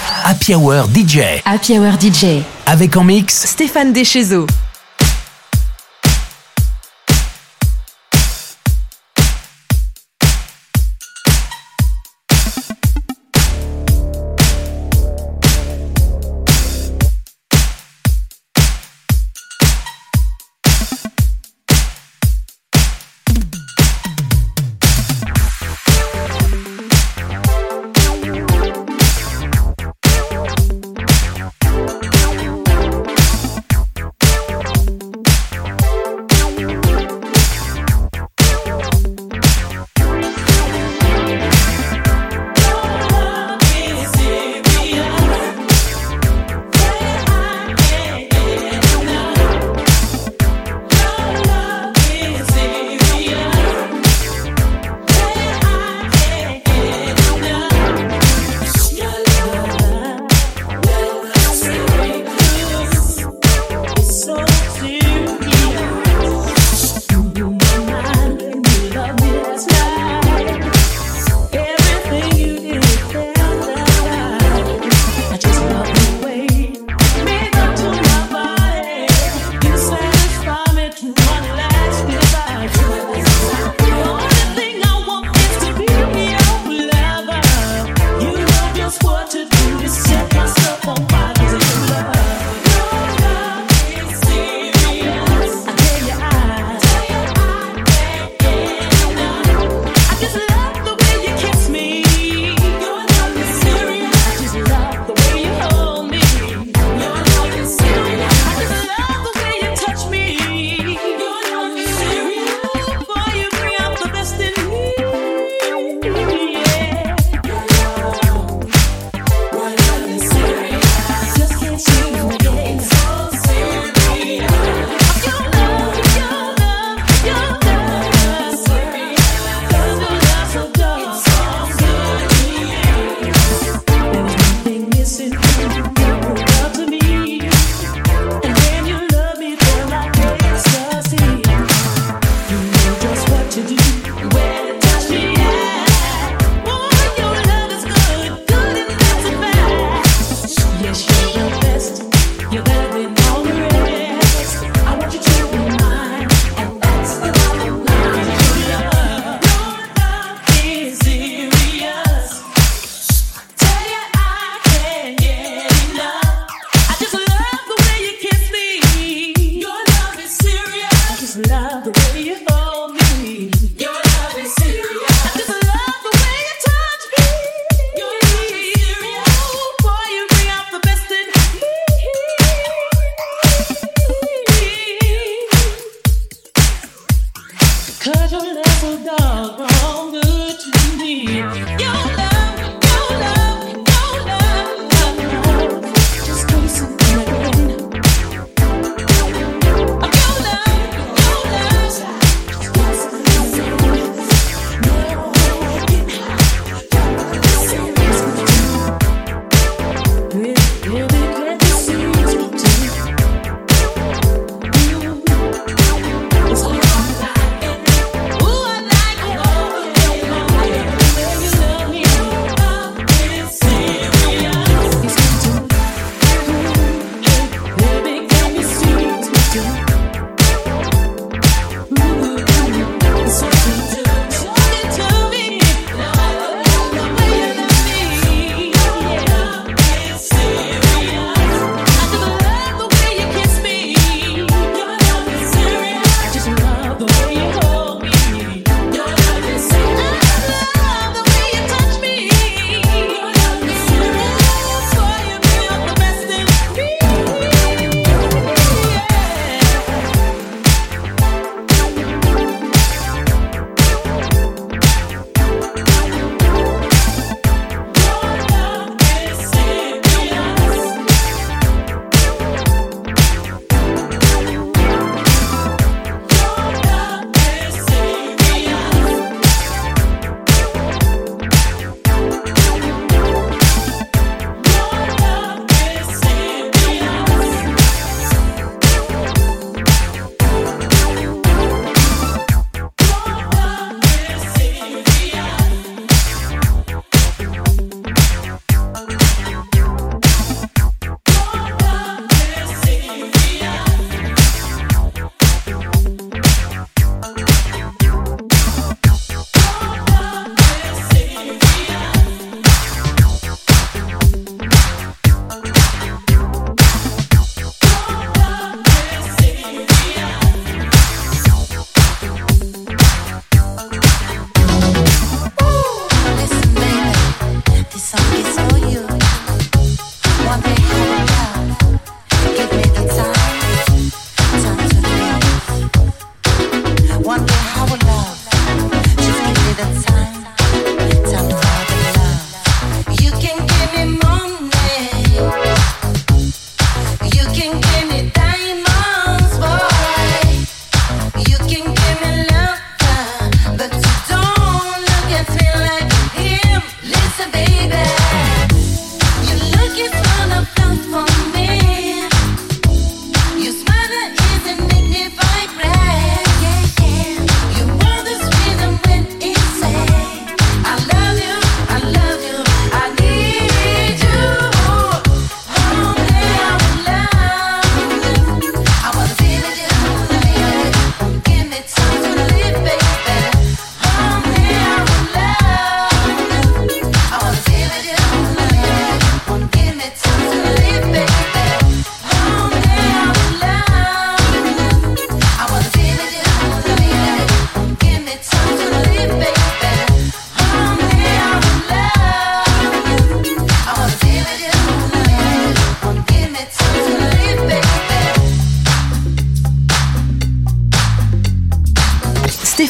Happy Hour DJ. Happy Hour DJ. Avec en mix Stéphane Deschezaux.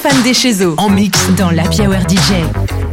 Sandy Chezo. En mix dans l'Happy Hour DJ.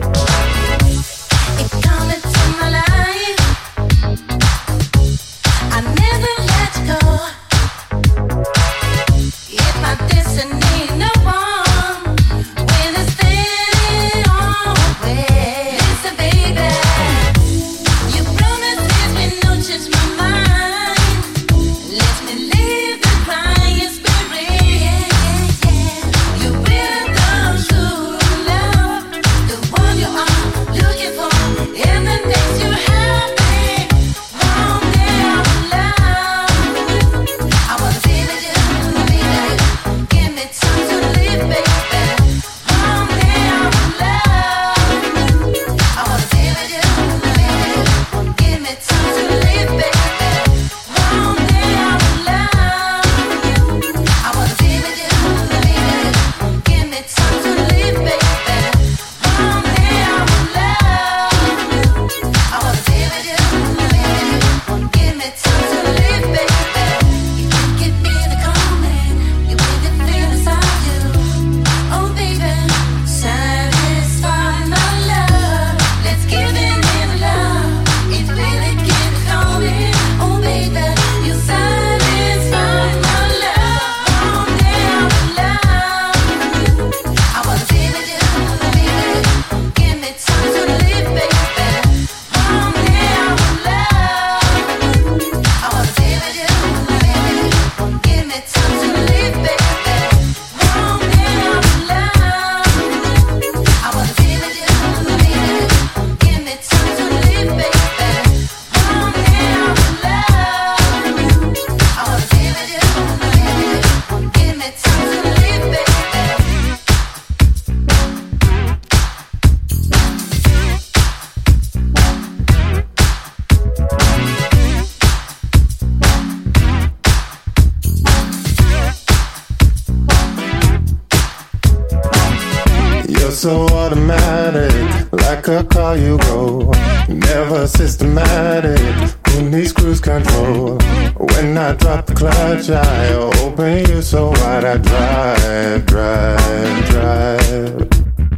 So automatic, like a car you go. Never systematic, who needs cruise control? When I drop the clutch, I open you so wide. I drive, drive, drive.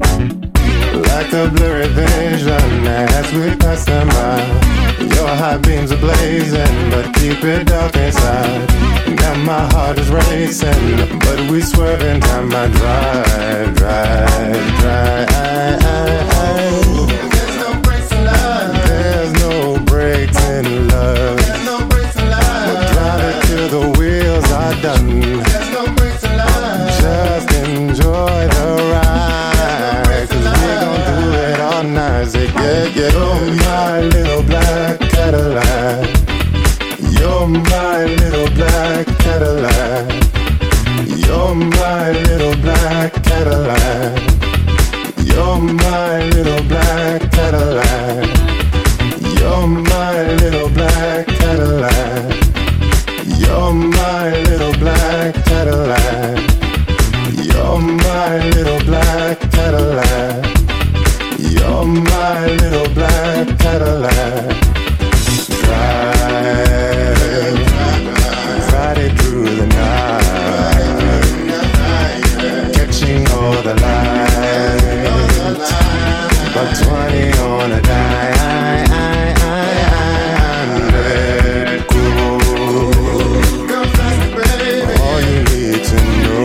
Like a blurry vision as we pass them by. Your high beams are blazing, but keep it dark inside. Now my heart is racing, but we swerve in time. I drive, drive, drive. There's no brakes in love. There's no brakes in love. There's no brakes in love. We'll drive it till the wheels are done. There's no brakes in love. Just enjoy the ride, 'cause we're gon' do it all night. Say, yeah, yeah. You're my little black Cadillac. You're my little black Cadillac. You're my little black Cadillac. You're my little black Cadillac. You're my little black Cadillac. You're my little black Cadillac. You're my little black Cadillac. You're my little black Cadillac. Drive, ride it through the night, catching all the lights. But 20 on a dime, let go. All you need to know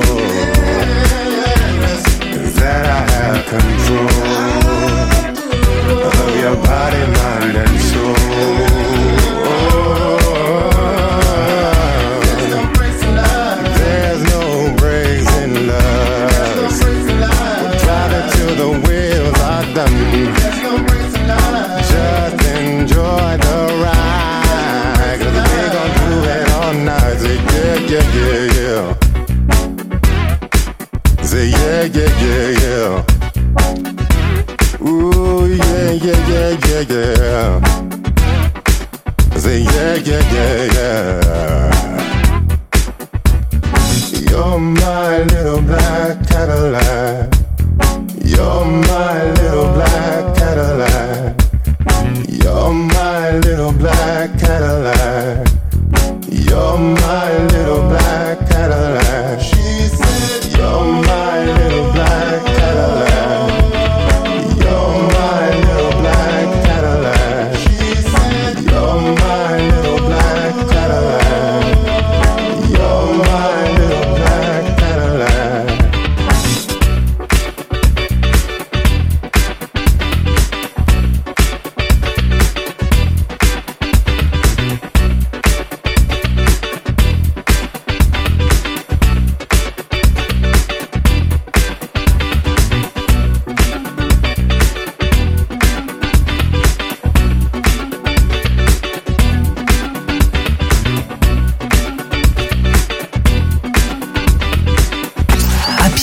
is that I have control of your body, mind, and soul. There's no brakes in love. We'll drive it till the wheels are done. Just enjoy the ride, 'cause we gon' do it all night. Say yeah, yeah, yeah, yeah. Say yeah, yeah, yeah, yeah. Ooh, yeah, yeah, yeah, yeah, yeah. Say yeah, yeah, yeah, yeah. You're my little black Cadillac. You're my little black Cadillac. You're my little black Cadillac. You're my little black Cadillac. She said, you're my little black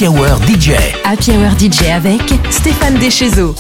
Happy Hour DJ. Happy Hour DJ avec Stéphane Deschezaux.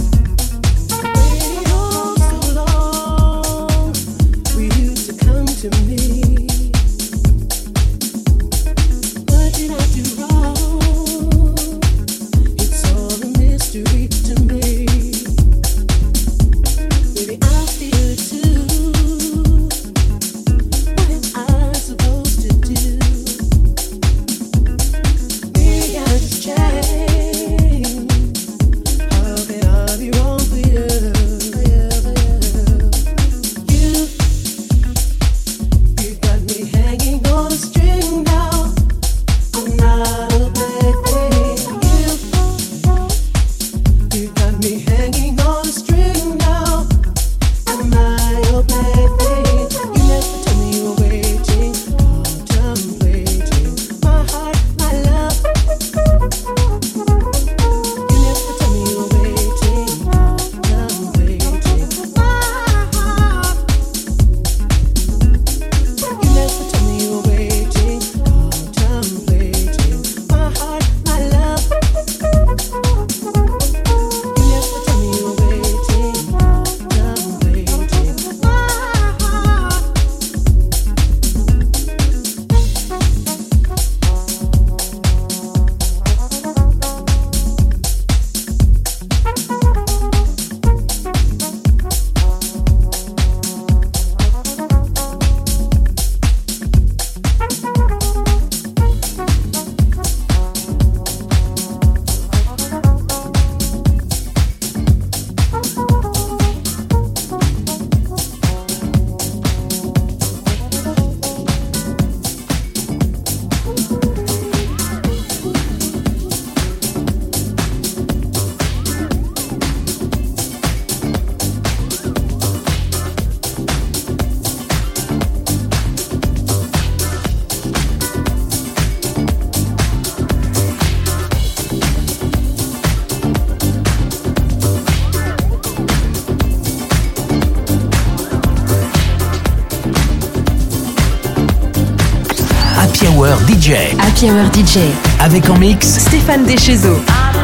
to Hour DJ. Happy Hour DJ. Avec en mix Stéphane Deschezaux.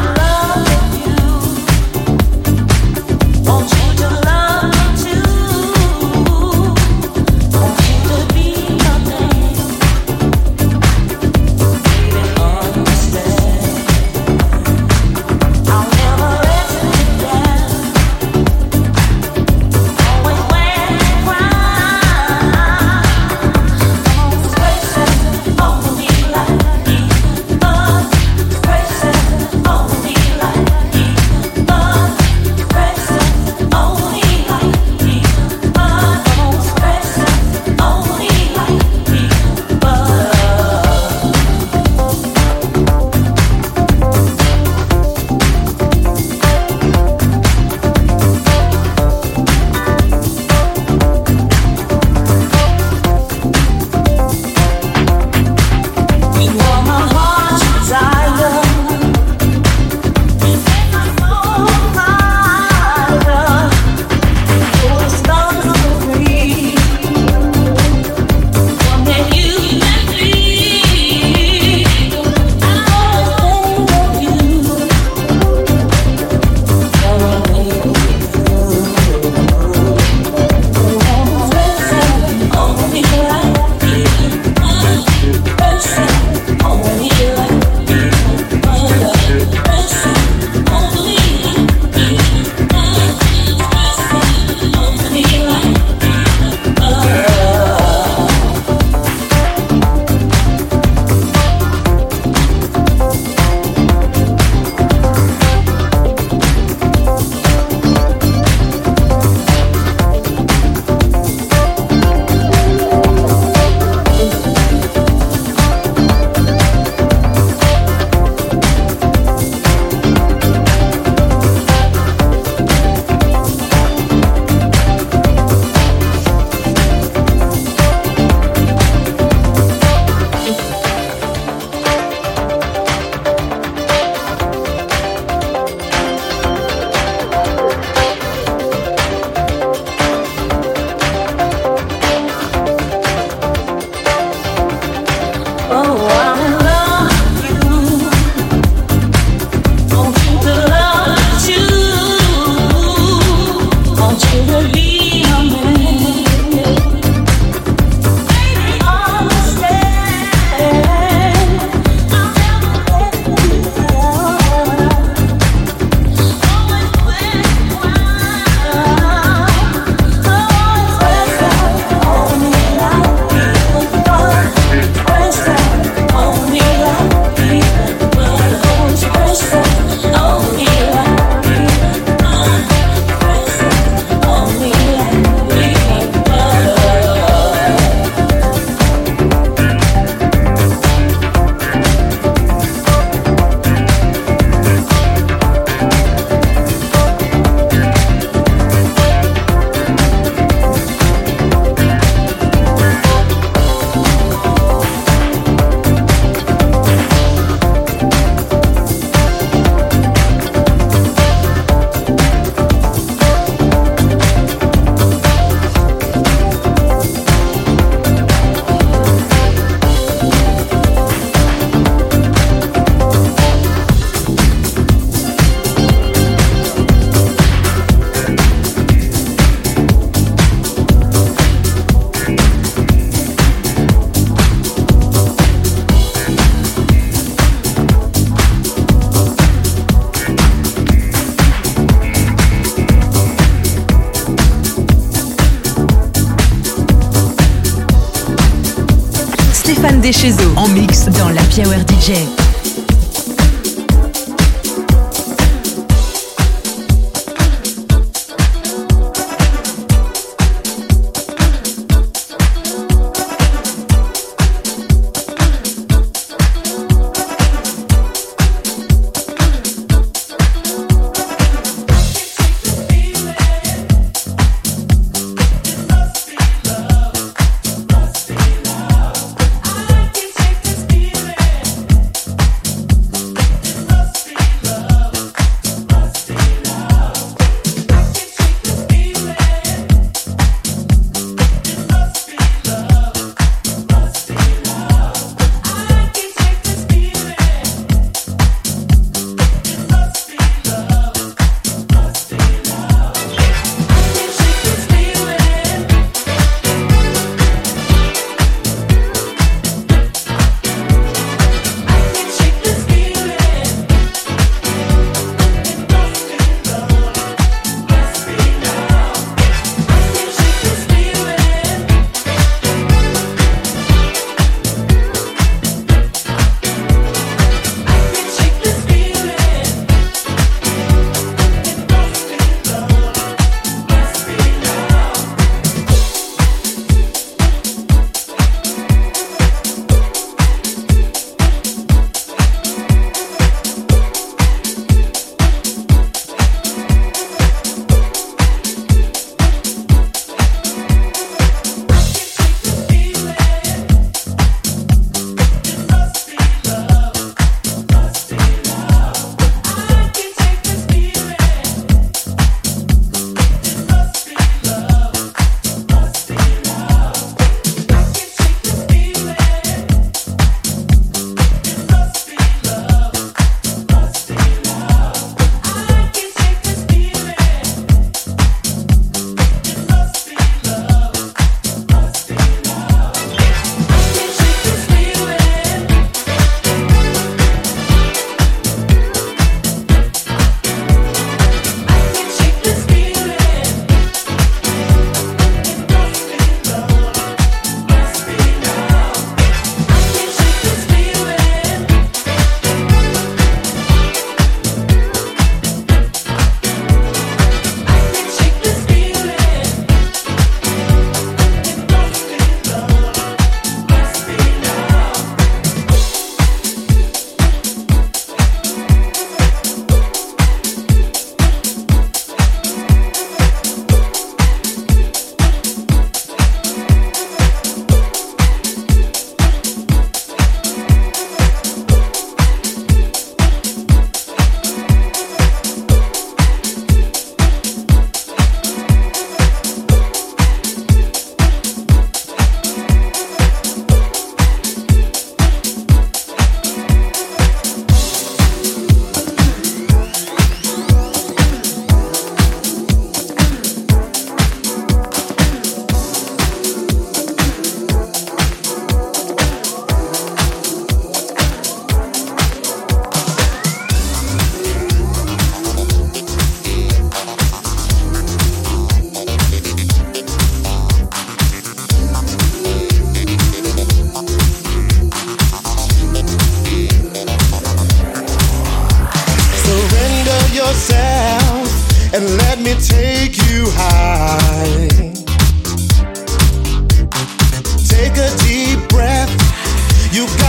Stéphane Deschezaux en mix dans l'Happy Hour DJ.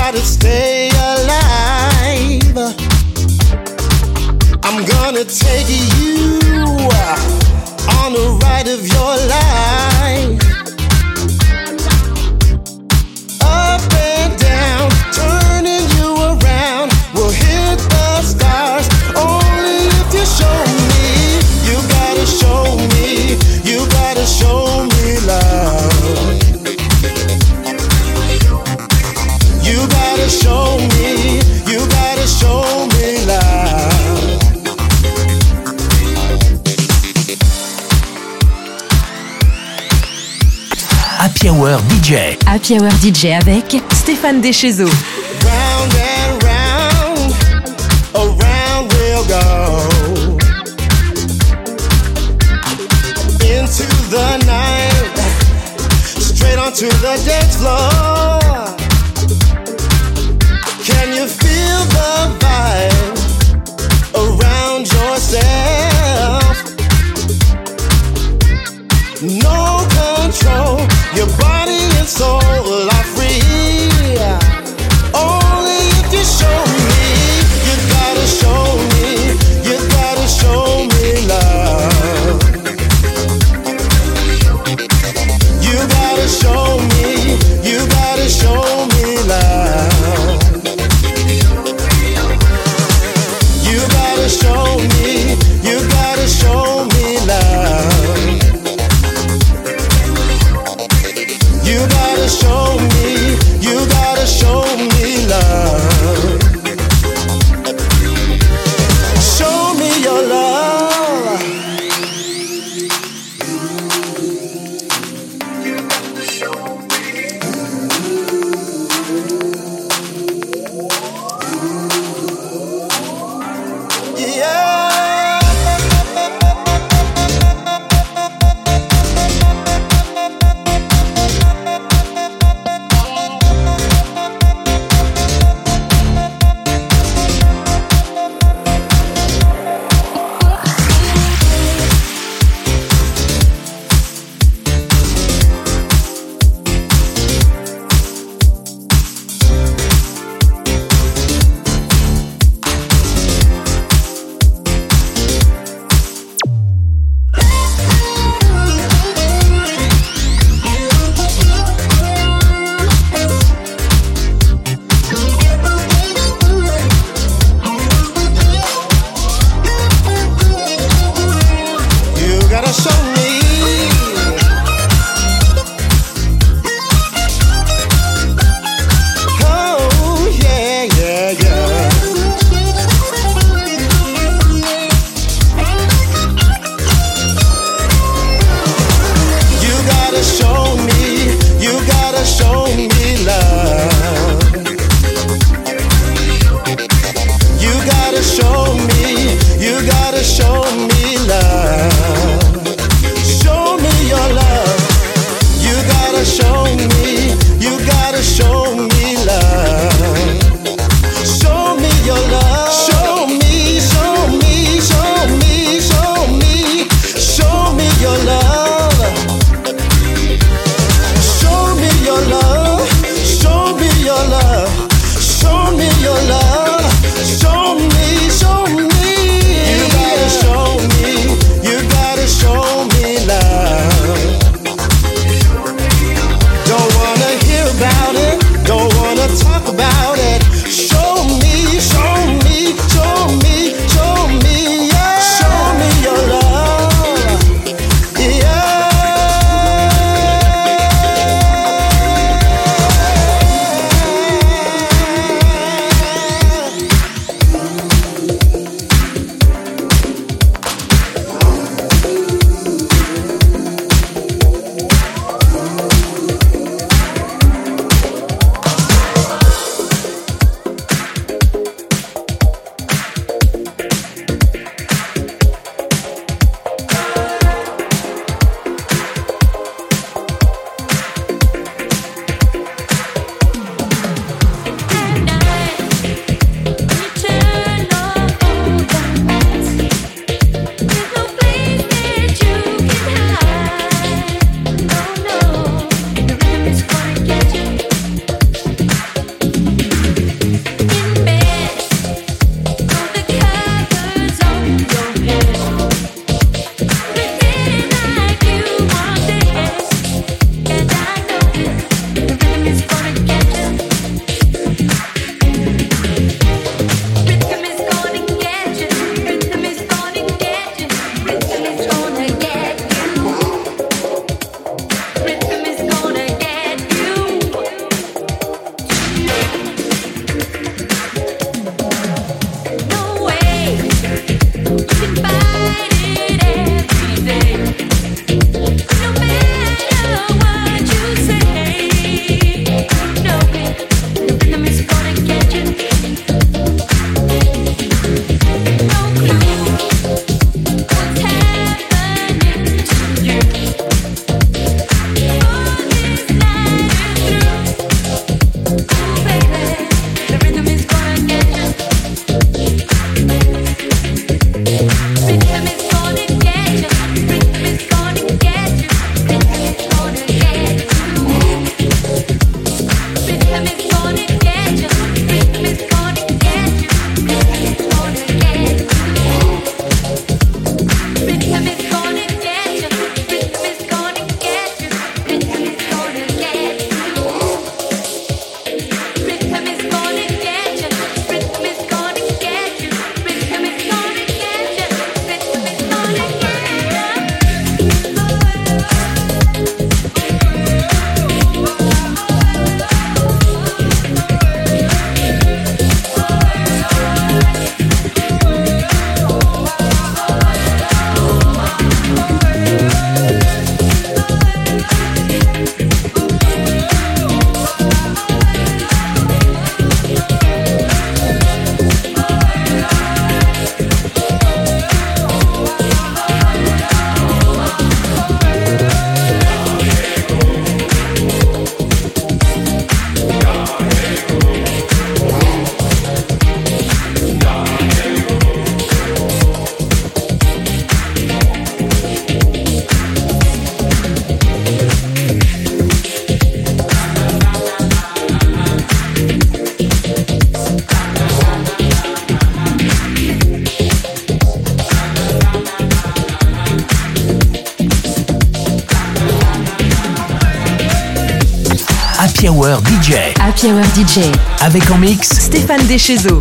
try to stay alive. I'm gonna take you on the ride of your life. Up and down, turning you around. We'll hit the stars only if you show me. You gotta show me. You gotta show me love. You gotta show me. You gotta show me love. Happy Hour DJ. Happy Hour DJ avec Stéphane Deschezaux. Round and round, around we'll go. Into the night, straight onto the dance floor. Can you feel the vibe around yourself? No control, your body and soul are free. Only if you show me, you gotta show me, you gotta show me love. You gotta show me, you gotta show me love. You gotta show me, you gotta show me love. You gotta show me, you gotta show me love. Show me your love. Show me your love. Happy Hour DJ. Happy Hour DJ. Avec en mix Stéphane Deschezaux.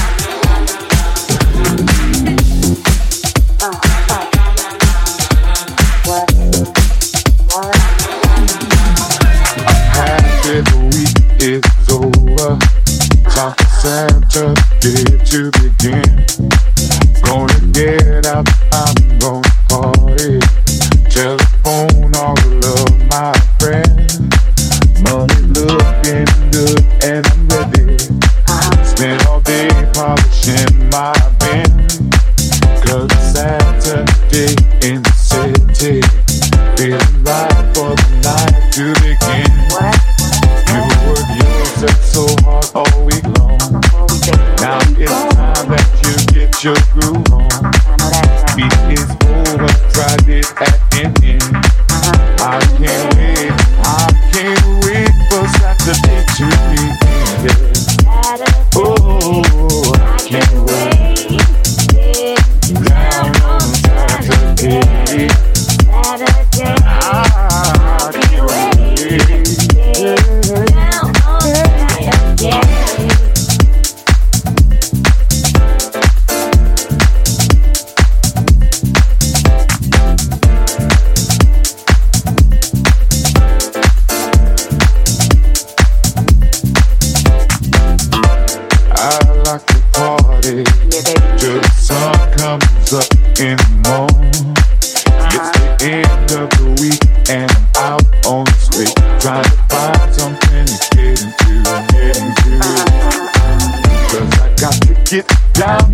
The week is over. Time for Saturday to begin. Gonna get out, I'm gonna party. Telephone all of my friends. Money looking good and I'm ready. Spend all day polishing my Benz. 'Cause it's Saturday in the city. Feeling right for the night to begin. You work yourself so hard all week long. Now it's time that you get your groove on. Week is over, tried it at an end. I can't wait for Saturday to begin. Oh, I can't wait. Down on Saturday. Till the sun comes up in the morning. It's the end of the week and I'm out on the street trying to find something to get into. 'Cause I got to get down.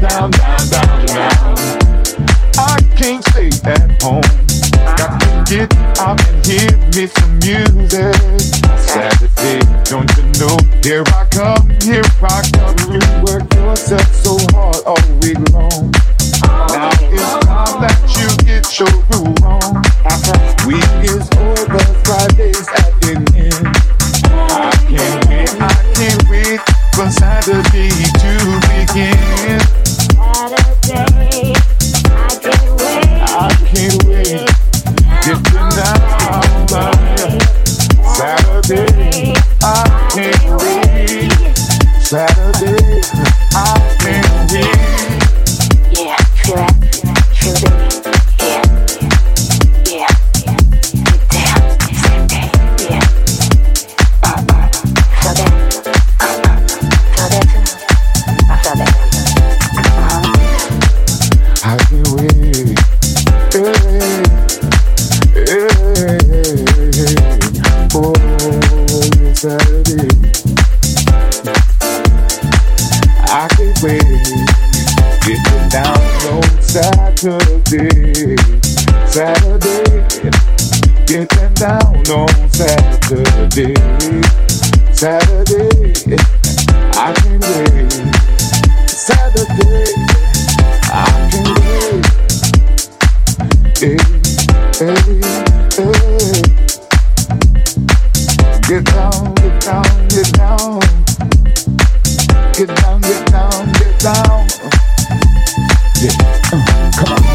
I can't stay at home. Got to get out and hear me some music. Saturday, don't you know? Here I come. You work yourself so hard all week long. Now it's time that you get your groove on. Week is over, Friday's at an end. I can't wait for Saturday to begin. I can't wait. Getting down. Saturday, I can't wait. Saturday, I can't wait. Yeah, feel it, yeah, get down, Saturday, yeah, feel that, feel that too, I feel that, I can't wait. Oh, it's Saturday. I can't wait. Getting down on Saturday. Getting down on Saturday. I can't wait. Saturday, I can't wait. Hey. Get down. Yeah, come on.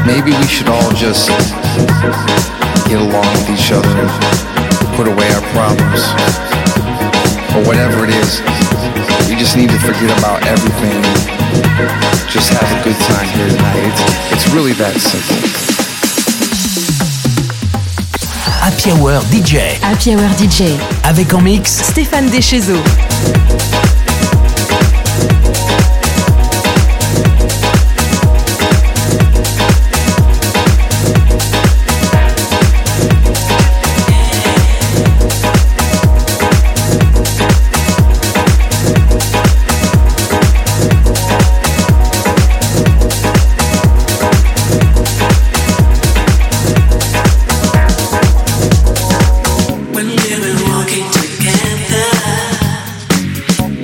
maybe we should all just get along with each other and put away our problems. Or whatever it is, we just need to forget about everything and just have a good time here tonight. It's really that simple. Happy Hour DJ. Happy Hour DJ. Avec en mix Stéphane Deschezaux. When we were walking together,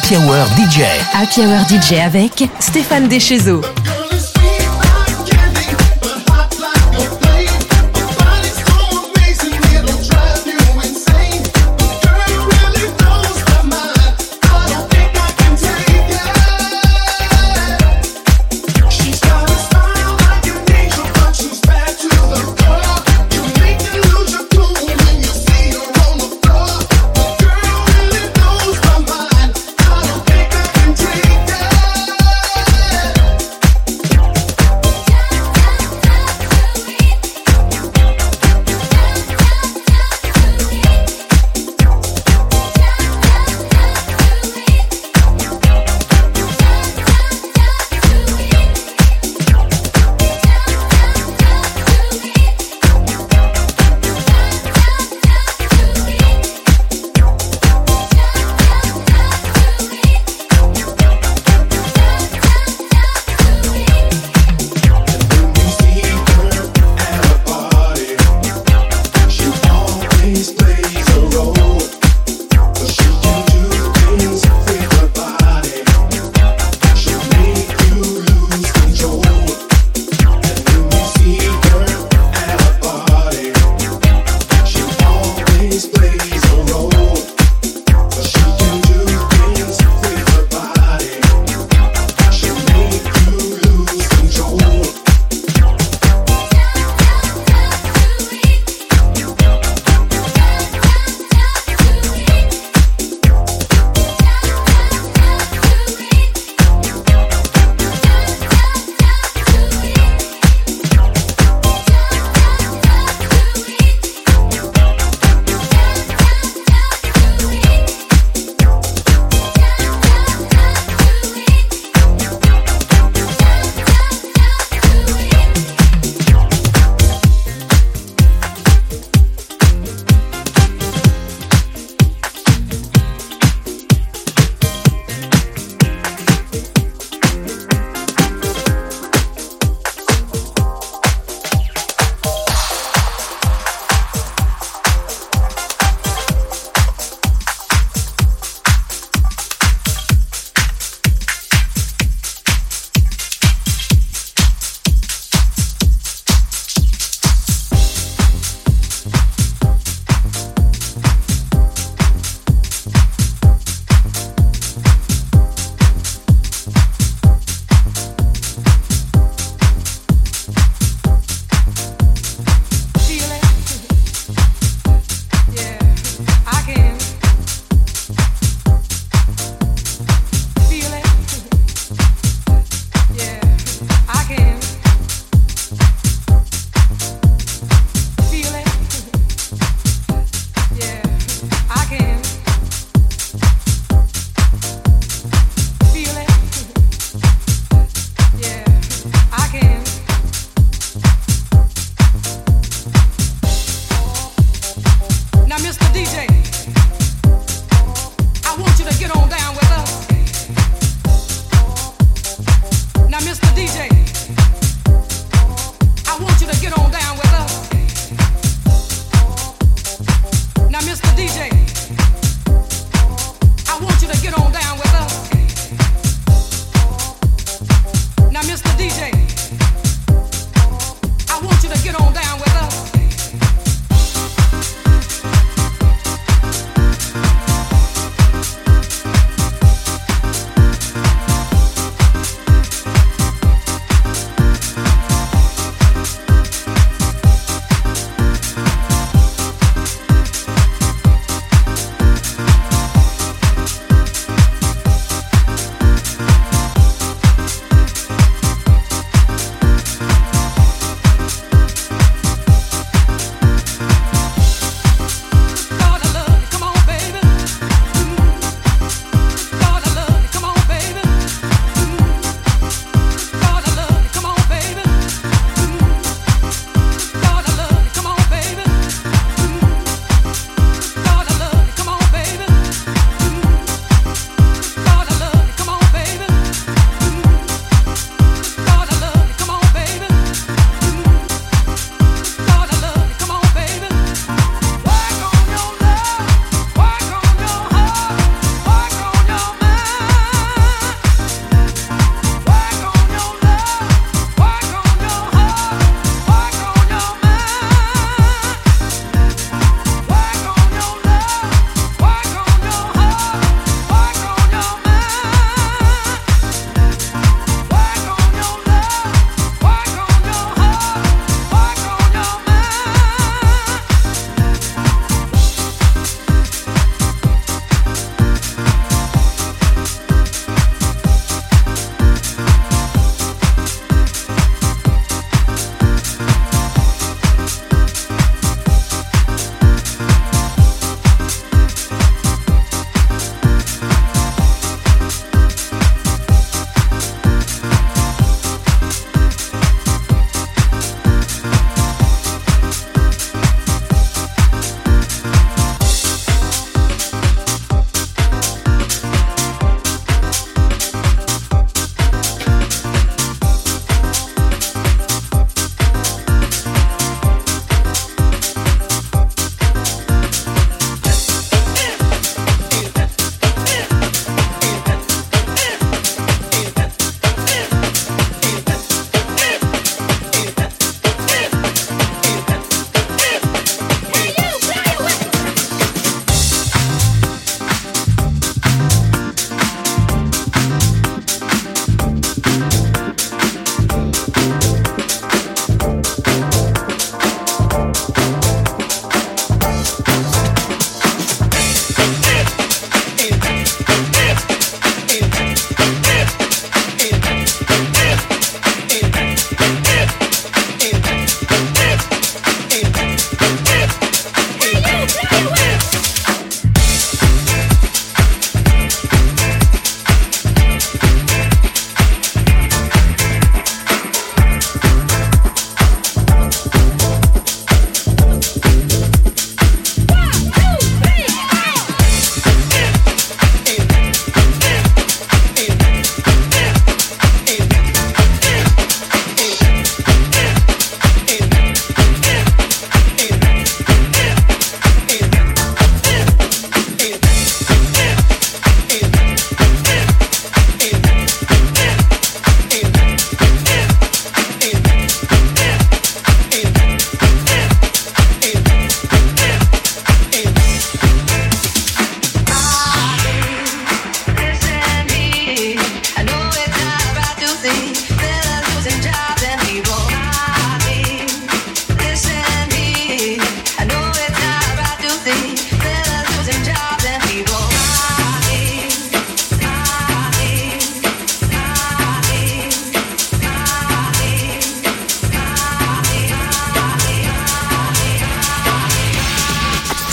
Happy Hour DJ. Happy Hour DJ avec Stéphane Deschezaux.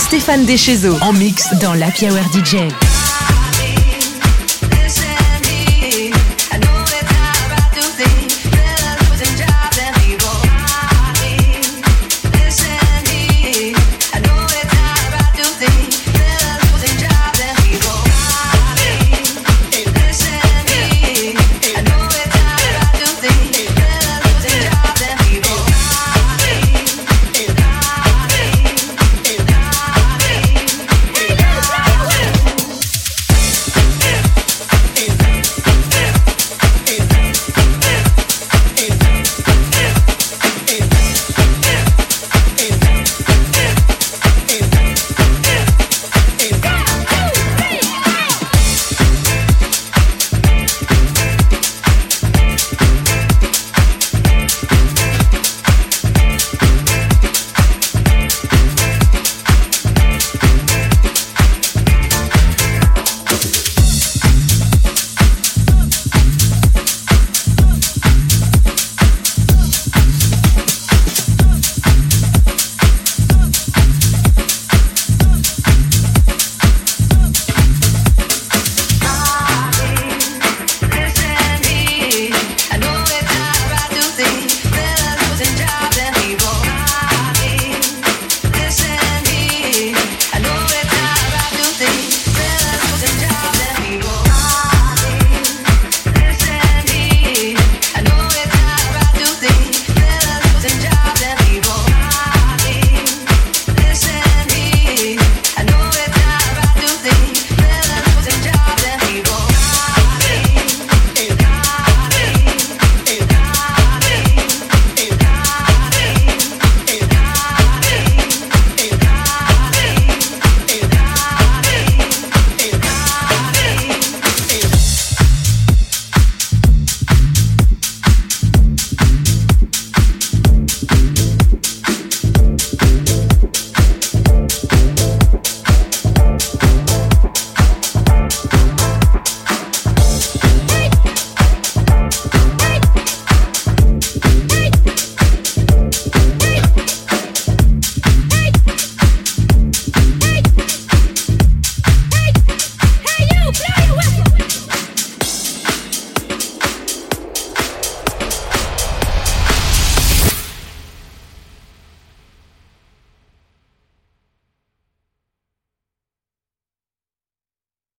Stéphane Deschezaux En mix dans l'Happy Hour DJ.